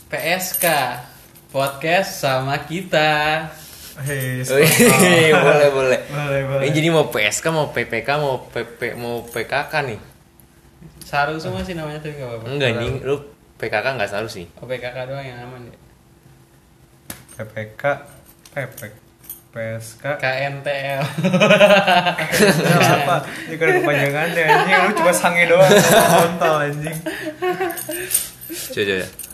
PSK podcast sama kita. Boleh. Boleh. Ini jadi mau PSK, mau PPK, mau PKK nih. Saru semua sih namanya tapi enggak apa-apa. Enggak nih, lu PKK enggak saru sih. Oh, PKK doang yang aman ya. PPK, PSK, KNTL. apa? Ini kan kepanjangannya anjing, lu cuma sange doang, kontol anjing. Coba.